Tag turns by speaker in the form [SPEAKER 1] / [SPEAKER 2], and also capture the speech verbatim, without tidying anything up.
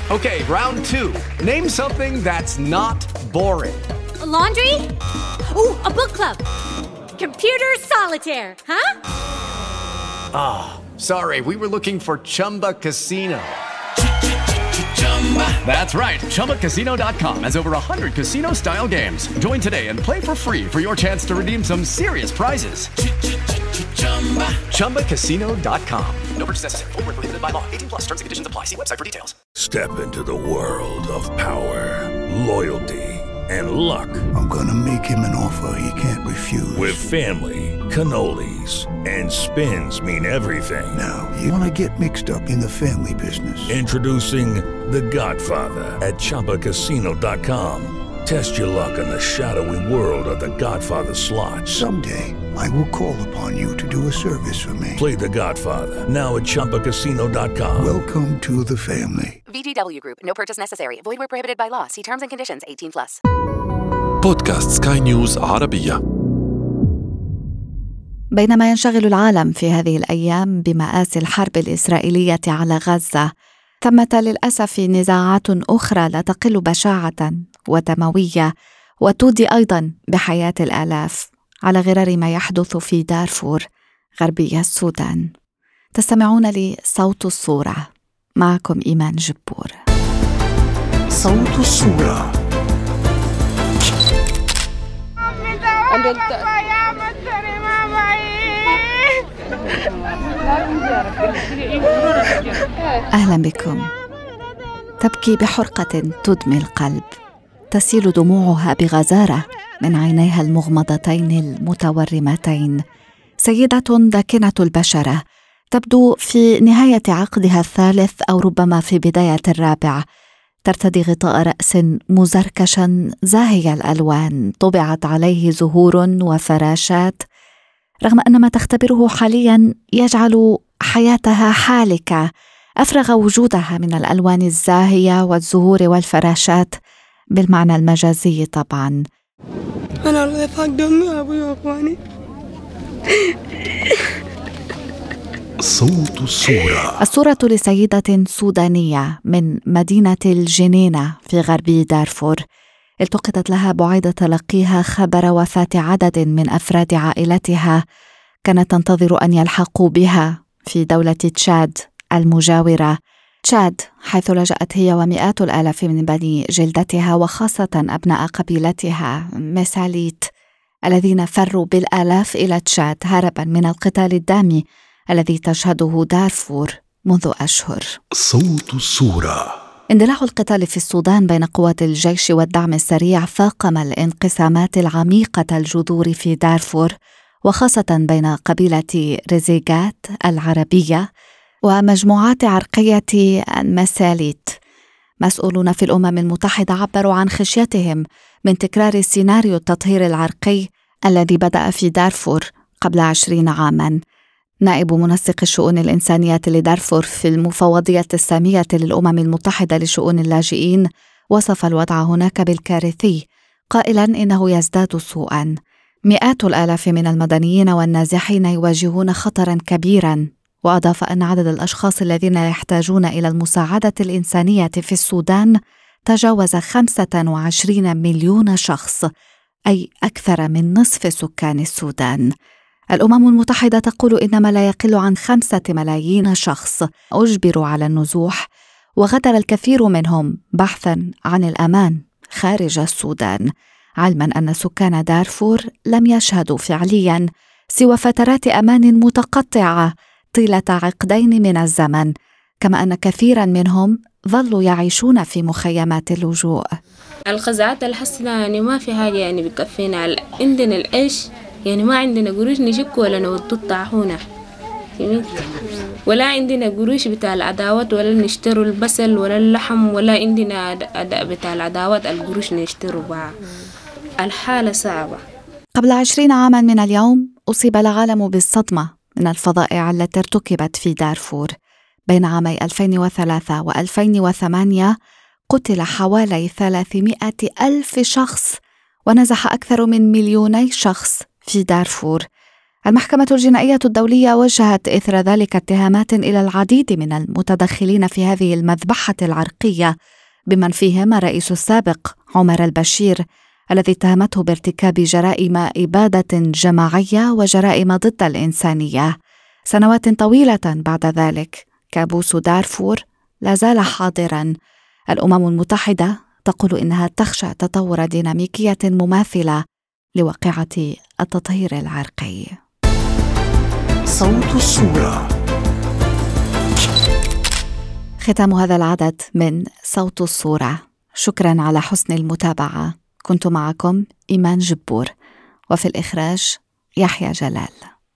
[SPEAKER 1] Okay, round two. Name something that's not boring.
[SPEAKER 2] A laundry? Ooh, a book club. Computer solitaire, huh?
[SPEAKER 1] Ah, oh, sorry. We were looking for Chumba Casino. That's right. Chumba Casino dot com has over one hundred casino-style games. Join today and play for free for your chance to redeem some serious prizes. Chumba Casino dot com. No purchase necessary. Void where prohibited by law. eighteen plus. Terms and conditions apply. See website for details.
[SPEAKER 3] Step into the world of power, loyalty, and luck.
[SPEAKER 4] I'm gonna make him an offer he can't refuse.
[SPEAKER 3] With family, cannolis, and spins mean everything.
[SPEAKER 4] Now, you wanna get mixed up in the family business.
[SPEAKER 3] Introducing The Godfather at Chumba Casino dot com. Test your luck in the shadowy world of The Godfather slot.
[SPEAKER 4] Someday, I will call upon you to do a service for me.
[SPEAKER 3] Play The Godfather now at Chumba Casino dot com.
[SPEAKER 4] Welcome to the family.
[SPEAKER 5] V G W Group. No purchase necessary. Void where prohibited by law. See terms and conditions. eighteen plus.
[SPEAKER 6] بودكاست سكاي نيوز عربية.
[SPEAKER 7] بينما ينشغل العالم في هذه الأيام بمآسي الحرب الإسرائيلية على غزة، ثمة للأسف نزاعات أخرى لا تقل بشاعة ودموية وتودي أيضا بحياة الآلاف، على غرار ما يحدث في دارفور غربي السودان. تستمعون لصوت الصورة، معكم إيمان جبور.
[SPEAKER 4] صوت الصورة.
[SPEAKER 7] أهلا بكم. تبكي بحرقة تدمي القلب، تسيل دموعها بغزارة من عينيها المغمضتين المتورمتين. سيدة داكنة البشرة، تبدو في نهاية عقدها الثالث أو ربما في بداية الرابع. ترتدي غطاء رأس مزركشا زاهي الألوان طبعت عليه زهور وفراشات، رغم أن ما تختبره حاليا يجعل حياتها حالكة. أفرغ وجودها من الألوان الزاهية والزهور والفراشات بالمعنى المجازي طبعا.
[SPEAKER 8] أنا الله يفاق دمي يا أبوي وأخواني.
[SPEAKER 4] صوت الصورة.
[SPEAKER 7] الصورة لسيدة سودانية من مدينة الجنينة في غربي دارفور، التقطت لها بعد تلقيها خبر وفاة عدد من أفراد عائلتها كانت تنتظر أن يلحقوا بها في دولة تشاد المجاورة. تشاد حيث لجأت هي ومئات الآلاف من بني جلدتها وخاصة أبناء قبيلتها مساليت الذين فروا بالآلاف إلى تشاد هربا من القتال الدامي الذي تشهده دارفور منذ أشهر.
[SPEAKER 4] صوت الصورة.
[SPEAKER 7] اندلاع القتال في السودان بين قوات الجيش والدعم السريع فاقم الانقسامات العميقة الجذور في دارفور، وخاصة بين قبيلة رزيغات العربية ومجموعات عرقية المساليت. مسؤولون في الأمم المتحدة عبروا عن خشيتهم من تكرار سيناريو التطهير العرقي الذي بدأ في دارفور قبل عشرين عاماً. نائب منسق الشؤون الإنسانية لدارفور في المفوضية السامية للأمم المتحدة لشؤون اللاجئين وصف الوضع هناك بالكارثي، قائلاً إنه يزداد سوءاً. مئات الآلاف من المدنيين والنازحين يواجهون خطراً كبيراً، وأضاف أن عدد الأشخاص الذين يحتاجون إلى المساعدة الإنسانية في السودان تجاوز خمسة وعشرين مليون شخص، أي أكثر من نصف سكان السودان. الأمم المتحدة تقول إن ما لا يقل عن خمسة ملايين شخص أجبروا على النزوح، وغادر الكثير منهم بحثاً عن الأمان خارج السودان، علماً أن سكان دارفور لم يشهدوا فعلياً سوى فترات أمان متقطعة طيلة عقدين من الزمن، كما أن كثيراً منهم ظلوا يعيشون في مخيمات اللجوء.
[SPEAKER 8] الخزعات الحسنة يعني ما في حاجة يعني بكفينا، عندنا العيش يعني ما عندنا قروش نشك ولا نودو الطاحونة، ولا عندنا قروش بتاع العداوات ولا نشتروا البصل ولا اللحم، ولا عندنا أداء بتاع العداوات القروش نشتروا بها. الحالة صعبة.
[SPEAKER 7] قبل عشرين عاما من اليوم أصيب العالم بالصدمة من الفظائع التي ارتكبت في دارفور. بين عامي ألفين وثلاثة وألفين وثمانية قتل حوالي ثلاثمائة ألف شخص ونزح أكثر من مليوني شخص في دارفور. المحكمة الجنائية الدولية وجهت إثر ذلك اتهامات إلى العديد من المتدخلين في هذه المذبحة العرقية، بمن فيهم الرئيس السابق عمر البشير الذي اتهمته بارتكاب جرائم إبادة جماعية وجرائم ضد الإنسانية. سنوات طويلة بعد ذلك كابوس دارفور لا زال حاضرا. الأمم المتحدة تقول إنها تخشى تطور ديناميكية مماثلة لواقعة التطهير العرقي.
[SPEAKER 4] صوت الصورة.
[SPEAKER 7] ختام هذا العدد من صوت الصورة. شكرا على حسن المتابعة. كنت معكم إيمان جبور، وفي الإخراج يحيى جلال.